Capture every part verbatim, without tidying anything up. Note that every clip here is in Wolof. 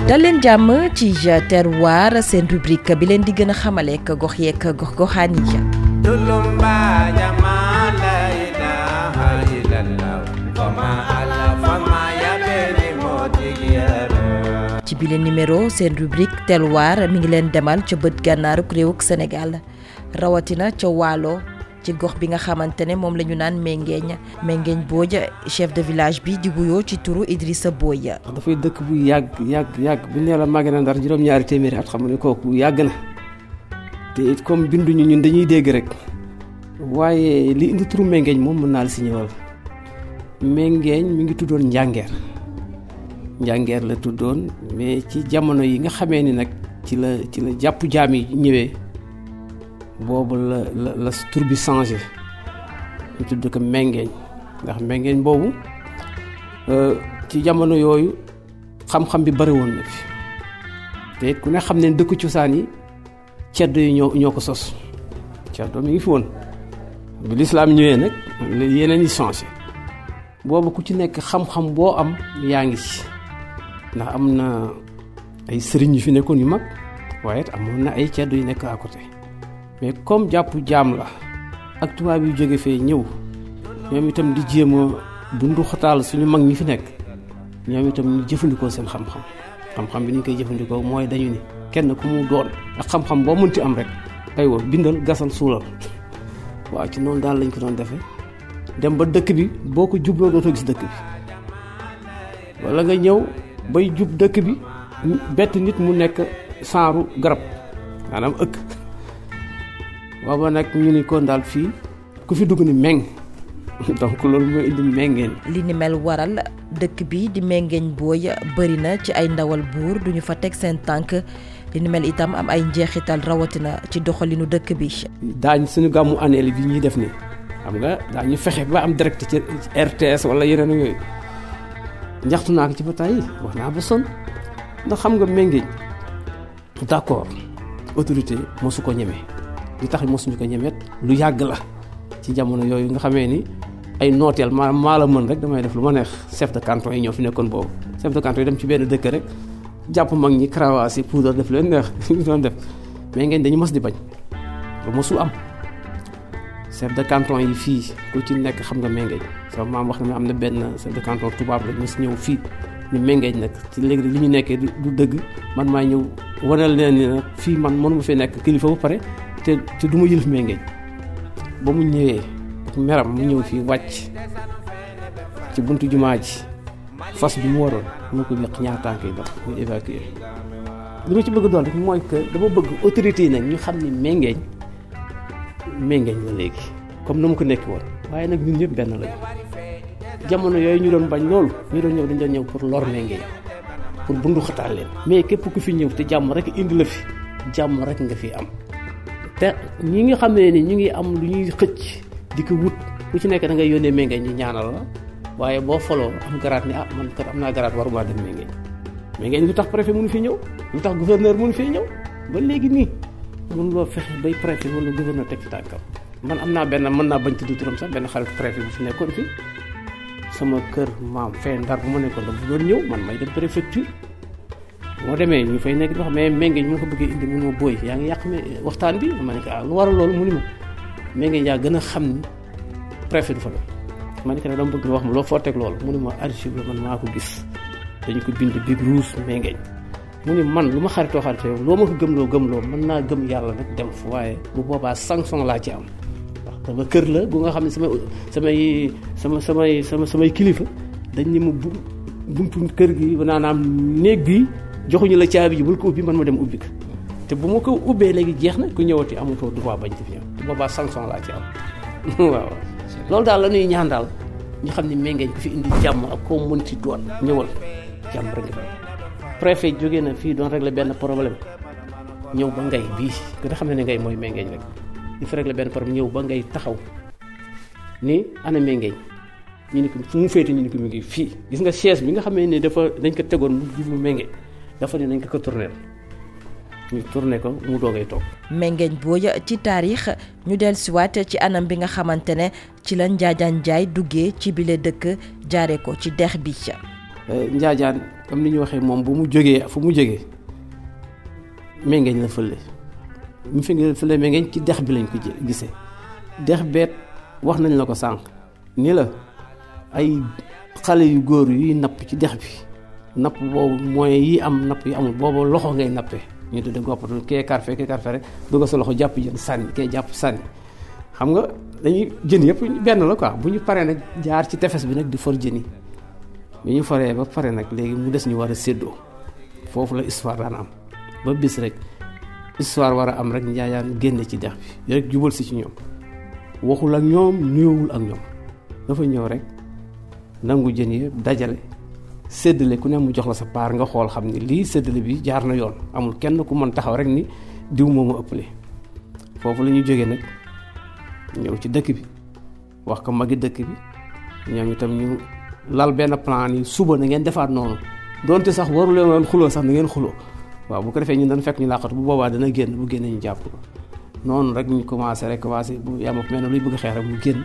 dal leen jàmm ci terroir seen rubrique bi leen di gën a xamale ak gox yeeg gox goxaan yi. ci bile numéro seen rubrique terroir mi ngi leen demal ca bët gànnaaruk réewuk Sénégal rawatina ca Waalo ci gox bi nga xamante ne moom la ñu naan Mengeeñ Mengeeñ Booj chef de village bi di wuyoo ci turu Idrissa Boy. dafay dëkk bu yàgg yàgg yàgg bu nee la màgg na Ndar juróom-ñaari téeméeri at xam nga ne kooku yàgg na te it comme binduñu ñun dañuy dégg rek waaye li indi turu Mengeeñ moom mën naa la si ñëwal. Mengeeñ mi ngi tuddoon Njàngeer Njàngeer la tuddoon mais ci jamono yi nga xamee ni nag ci la ci la jàpp jaam yi ñëwee. boobu la la la tur bi changé ñu tudd ko Mengeeñ ndax Mengeeñ boobu ci jamono yooyu xam-xam bi bari woon na fi te it ku ne xam ne dëkku cosaan yi ceddo yi ñoo ñoo ko sos ceddo mi ngi fi woon bi lislaam ñëwee nag yeneen yi changé boobu ku ci nekk xam-xam boo am yaa ngi ci ndax am na ay sëriñ yu fi nekkoon yu mag waaye it amoon na ay ceddo yu nekk à côté mais comme jàpp jaam la ak tubaab yu jóge fee ñëw ñoom itam di jéem a bundu xataal suñu mag ñi fi nekk ñoom itam ñu jëfandikoo seen xam-xam xam-xam bi ni ñu koy jëfandikoo mooy dañu ni kenn ku mu doon ak xam-xam boo mënti am rek aywa bindal gasal suulal waaw ci noonu daal lañ ko doon defee dem ba dëkk bi boo ko jubloo dootoo gis dëkk bi wala nga ñëw bay jub dëkk bi bett nit mu nekk saaru garab maanaam ëkk waaw nag ñu ni kon daal fii ku fi dugg ni meng donc loolu mooy indi Mengeeñ. li ni mel waral dëkk bi di Mengeeñ Boy bëri na ci ay ndawal buur duñu fa teg seen tànk li ni mel itam am ay njeexital rawatina ci doxalinu dëkk bi. daañ suñu gàmmu annuel bi ñuy def nii xam nga daañu fexe ba am direct ci R T S wala yeneen yooyu njaxtu naa ko ci bataay yi wax naa ba sonn ndax xam nga Mengeeñ d'accord autorité mosu ko ñeme. li tax mosuñu ko ñemet lu yàgg la ci jamono yooyu nga xamee ni ay nooteel maa maa la mën rek damay def lu ma neex chef de canton yi ñoo fi nekkoon boobu chef de canton yi dem ci benn dëkk rek jàpp mag ñi karawaasi poudre def leen neex ñu doon def mais ngeen dañu mos di bañ lu mosul am chef de canton yi fii ku ci nekk xam nga Mengeeñ sama maam wax na am na benn chef de canton tubaab la mos ñëw fii ni Mengeeñ nag ci léegi li ñu nekkee du dëgg man maa ñëw wanal leen ni nag fii man mënuma fee nekk kilifa ba pare te te du ma yëlif Mengeeñ ba mu ñëwee meram mu ñëw fii wàcc ci buntu jumaa ji fas bi mu waroon mu ko yëq ñaar tànk yi dox ñu évacuer li ma ci bëgg doon rek mooy que dama bëgg autorité yi nag ñu xam ni Mengeeñ Mengeeñ la léegi comme na mu ko nekk woon waaye nag ñun ñëpp benn lañu jamono yooyu ñu doon bañ loolu ñu doon ñëw dañu doon ñëw pour lor Mengeeñ pour bundu xataal leen mais képp ku fi ñëw te jàmm rek indi la fi jàmm rek nga fi am te ñi nga xam ne ni ñu ngi am lu ñuy xëcc di ko wut ku ci nekk da ngay yónnee Mengeeñ ñu ñaanal la waaye boo foloo am garaat ni ah man kat am naa garaat waruma dem Mengeeñ Mengeeñ lu tax préfet mënu fi ñëw lu tax gouverneur mënu fi ñëw ba léegi nii mën loo fexe bay préfet wala gouverneur teg ci tànkam man am naa benn mën naa bañ tudd turam sax benn xarit préfet bu fi nekkoon fi sama kër maam fee Ndar bu ma nekkoon da bu doon ñëw man may dem préfecture moo demee ñu fay nekk di wax mais Mengeeñ mu ko bëggee indi mu ma booy yaa ngi yàq waxtaan bi ma ne ko ah lu waral loolu mu ni ma Mengeeñ yaa gën a xam ni préfet du fa doon ma ne ko ne dama bëgg nga wax ma loo foo teg loolu mu ni ma archive la man maa ko gis dañu ko bind big rouge Mengeeñ mu ni man lu ma xaritoo xaritoo yow loo ma ko gëmloo gëmloo mën naa gëm yàlla nag dem fa waaye bu boobaa sanction laa ci am wax dama kër la bu nga xam ne sama samay sama samay sama samay kilifa dañ ni ma bu buntu kër gi naanaam néeg bi joxuñu la caabi ji bul ko ubbi man ma dem ubbi ko te bu ma ko ubbee léegi jeex na ku ñëwati amatoo droit bañ ci fi ñëw te boobaa sanction laa ci am waaw loolu daal la ñuy ñaan daal ñu xam ne Mengeeñ ku fi indi jàmm ak koo mën ci doon ñëwal jàmm rek nga préfet jógee na fii doon régler benn problème ñëw ba ngay bii nga xam ne ne ngay mooy Mengeeñ rek di fa régler benn problème ñëw ba ngay taxaw ni ana Mengeeñ ñu ni ko fu mu féete ñu ni ko mu ngi fii gis nga chaise bi nga xam ne dafa dañ ko tegoon mu jublu Mengeeñ dafa ne nañ ko ko tourner ñu tourné ko mu doogay toog. Mengeeñ Boy ci taarix ñu dellusiwaat ci anam bi nga xamante ne ci la Njaajaan Njaay duggee ci bile dëkk jaare ko ci dex bi. Njaajaan comme ni ñu waxee moom bu mu jógee fu mu jógee Mengeeñ la fële mu fi nga fële Mengeeñ ci dex bi lañ ko gisee dex beet wax nañ la ko sànq ni la ay xale yu góor yuy napp ci dex bi napp boobu mooy yi am napp yi amul boobu loxo ngay nappee ñu tudde goppatu kee karfe kee karfe rek dugga sa loxo jàpp jën sànni kee jàpp sànni xam nga dañuy jën yëpp benn la quoi bu ñu paree nag jaar ci tefes bi nag di for jën yi bi ñu foree ba pare nag léegi mu des ñu war a séddoo foofu la histoire daan am ba bis rek histoire war a am rek Njaajaan génne ci dex bi rek jubal si ci ñoom waxul ak ñoom nuyoowul ak ñoom dafa ñëw rek nangu jën yi dajale séddale ku ne mu jox la sa paar nga xool xam ni lii séddale bi jaar na yoon amul kenn ku mën taxaw rek ni diw moomu ëppale foofu la ñu jógee nag ñëw ci dëkk bi wax ko magi dëkk bi ñoom itam ñu lal benn plan yi suba na ngeen defaat noonu donte sax waru leen woon xuloo sax na ngeen xuloo waaw bu ko defee ñun dañ fekk ñu làqatu bu boobaa dana génn bu génnee ñu jàpp ko noonu rek ñu commencé rek commencé bu yàlla mel ne luy bëgg xeex rek mu génn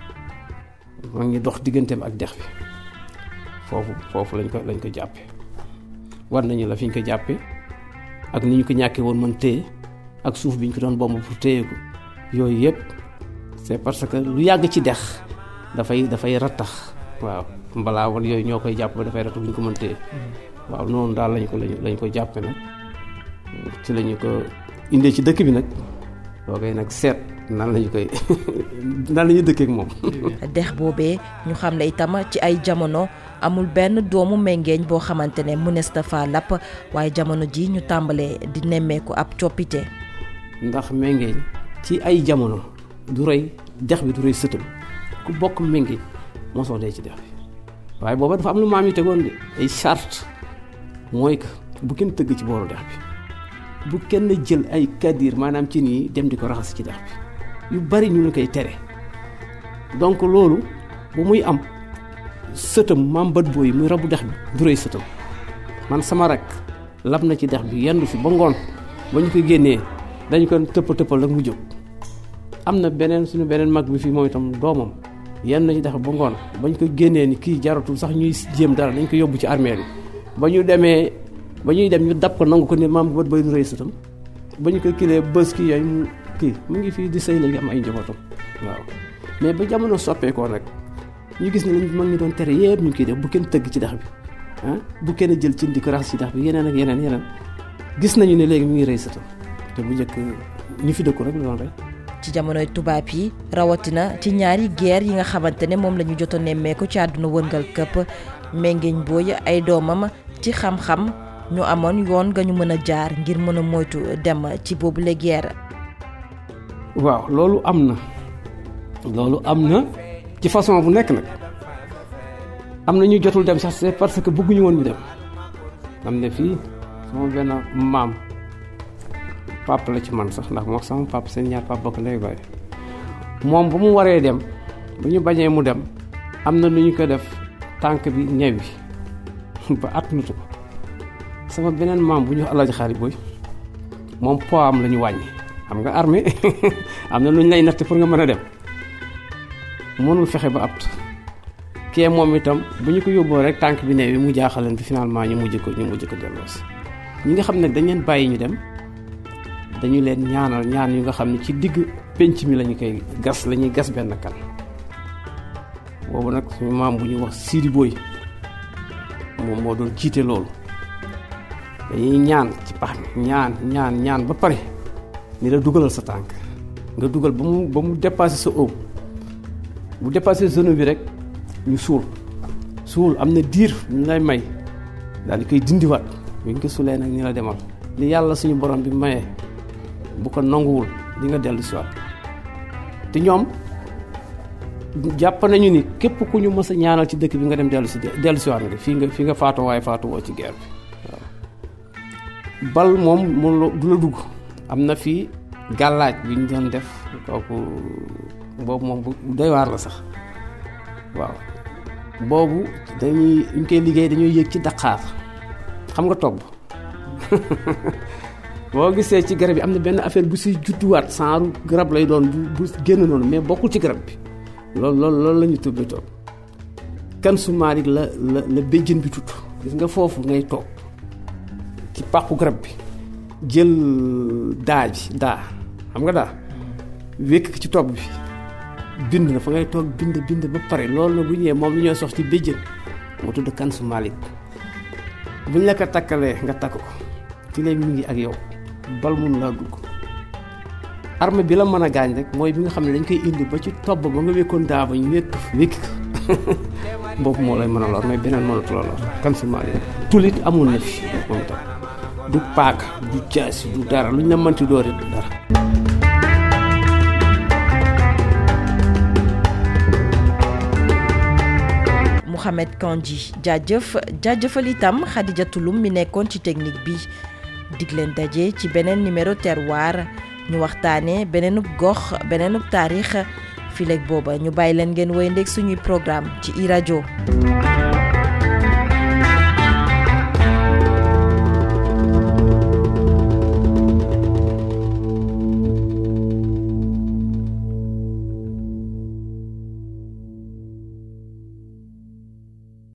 moo ngi dox digganteem ak dex bi foofu foofu lañ ko lañ ko jàppee war nañu la fi ñu ko jàppee ak ni ñu ko ñàkkee woon mën téye ak suuf bi ñu ko doon bomb pour téye ko yooyu yëpp c'est parce que lu yàgg ci dex dafay dafay rattax waaw mbalaa wala yooyu ñoo koy jàpp ba dafay rattax bu ñu ko mën téye waaw noonu daal lañ ko lañ lañ ko jàppe nag ci lañu ko indee ci dëkk bi nag loo koy nag seet nan lañu koy nan lañu dëkkee ak moom. dex boobee ñu xam ne itam ci ay jamono amul benn doomu Mengeeñ boo xamante ne mënees na faa lapp waaye jamono ji ñu tàmbalee di nemmeeku ab coppite. ndax Mengeeñ ci ay jamono du rey dex bi du rey sëtam ku bokk Mengeeñ mosoo dee ci dex bi waaye booba dafa am lu maam yi tegoon de ay charte mooy que bu kenn tëgg ci booru dex bi bu kenn jël ay kadir maanaam ci nii dem di ko raxas ci dex bi yu bari ñu la koy tere donc loolu bu muy am sëtam maam bët booy muy rabu dex bi du rëy sëtam man sama rak lab na ci dex bi yendu fi ba ngoon ba ñu ko génnee dañu ko tëpp tëppal rek mu jóg am na beneen suñu beneen mag bi fii moom itam doomam yenn na ci dex ba ngoon ba ñu ko génnee ni kii jaratul sax ñuy jéem dara dañ ko yóbbu ci armée bi ba ñu demee ba ñuy dem ñu dab ko nangu ko ne maam bët booy du rëy sëtam ba ñu ko kilee bës kii yooyu mu kii mu ngi fii di sëy léegi am ay njabootam waaw mais ba jamono soppeekoo nag ñu gis ne lañ mag ñi doon tere yëpp ñu ngi koy def bu kenn tëgg ci dex bi ah bu kenn jël cin di ko raxas ci dex bi yeneen ak yeneen yeneen gis nañu ne léegi mu ngi rëy sëtam te bu njëkk ñu fi dëkku rek la doon rey. ci jamonoy tubaab yi rawatina ci ñaari guerre yi nga xamante ne moom la ñu jot a nemmeeku ci àdduna wërngal këpp Mengeeñ Booy ay doomam ci xam-xam ñu amoon yoon nga ñu mën a jaar ngir mën a moytu dem ci boobu la guerre. waaw loolu am na loolu am na ci façon bu nekk nag am na ñu jotul dem sax c'est parce que bëgguñu woon ñu dem am na fii sama benn maam papa la ci man sax ndax moo sama papa seen ñaar papa bokk ndey baay moom bu mu waree dem bu ñu bañee mu dem am na nu ñu ko def tànk bi ñewi ba at nutu ko sama beneen maam bu ñu wax Alaaji Xaari Booy moom poids am la ñu wàññi xam nga armée am na lu ñu lay natt pour nga mën a dem mënul fexe ba apt kee moom itam bu ñu ko yóbboo rek tànk bi neewi mu jaaxaleen bi finalement ñu mujj ko ñu mujj ko delloosi ñi nga xam ne dañ leen bàyyi ñu dem dañu leen ñaanal ñaan yu nga xam ne ci digg penc mi lañu koy gas la ñuy gas benn kan boobu nag suñu maam bu ñuy wax Sidi Booy moom moo doon jiite loolu dañuy ñaan ci pax mi ñaan ñaan ñaan ba pare ni la dugalal sa tànk nga dugal ba mu ba mu dépassé sa óom bu dépassé zone bi rek ñu suul suul am na diir ñu lay may daal di koy dindiwaat bu ñu ko suulee nag ni la demal li yàlla suñu borom bi mayee bu ko nanguwul di nga dellu si waat te ñoom jàpp nañu ni képp ku ñu mës a ñaanal ci dëkk bi nga dem dellu si dellu si waat nga fii nga fii nga faatu waaye faatu woo ci guerre bi waaw bal moom moom du la dugg am na fii gàllaaj bi ñu doon def kooku boobu moom bu doy waar la sax waaw boobu dañuy ñu koy liggéey dañuy yëg ci daqaar xam nga togg boo gisee ci garab yi am na benn affaire bu siy judduwaat saaru garab lay doon bu bu génn noonu mais bokkul ci garab bi loolu loolu loolu la ñu tuddee toog Kansu Malick la la la béjjën bi tudd gis nga foofu ngay toog ci pàqu garab bi jël daa ji daa xam nga daa wékk ci topp bi bind na fa ngay toog bind bind ba pare loolu na bu ñëwee moom lu ñoo sox ci béjjën moo tudd Kansu Malick buñ la ko takkalee nga takk ko fi lay mu ngi ak yow bal mun laa dugg arme bi la mën a gaañ rek mooy bi nga xam ne dañ koy indi ba ci topp ba nga wékkoon daa ba ñu wékk wékk ko boobu moo lay mën a lor mais beneen mënatu la lor Kansu Malick tulit amul na fi moom tam du paaka du jaasi du dara luñ la mënti doori du dara. Mouhamed Kandji jaajëf jaajëfal itam Khadijatou Loum mi nekkoon ci technique bi dig leen daje ci beneen numéro terroir ñu waxtaanee beneenub gox beneenub taarix fileeg booba ñu bàyyi leen ngeen woy ndéeg suñuy programme ci i rajo